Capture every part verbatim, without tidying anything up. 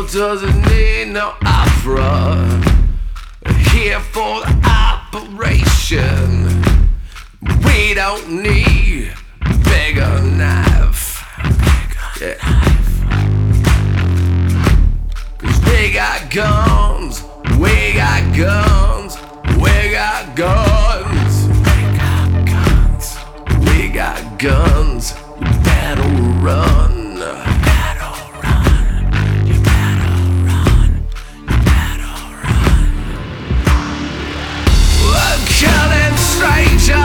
world doesn't need no opera. Here for the operation. We don't need bigger knife. Yeah. Cause we got guns, we got guns, we got guns. We got guns, we got guns. You better run. Killing strangers,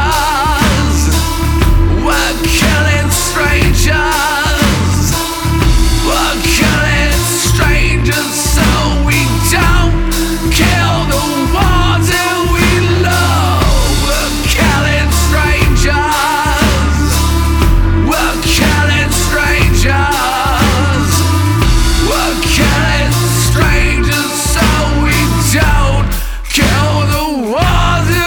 we're killing strangers, we're killing strangers so we don't kill the ones that we love. We're killing strangers, we're killing strangers, we're killing strangers so we don't kill the ones that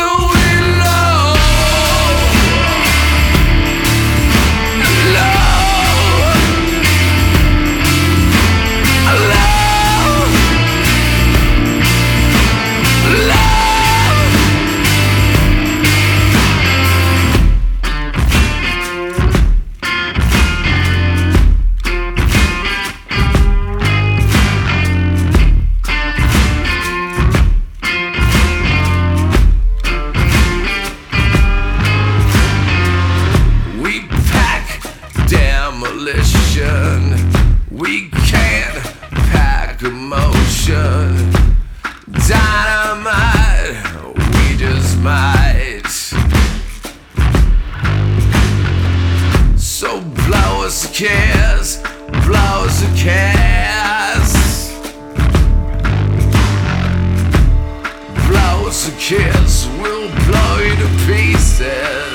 demolition. We can't pack emotion. Dynamite, we just might. So blow us a kiss, blow us a kiss, blow us a kiss, we'll blow you to pieces.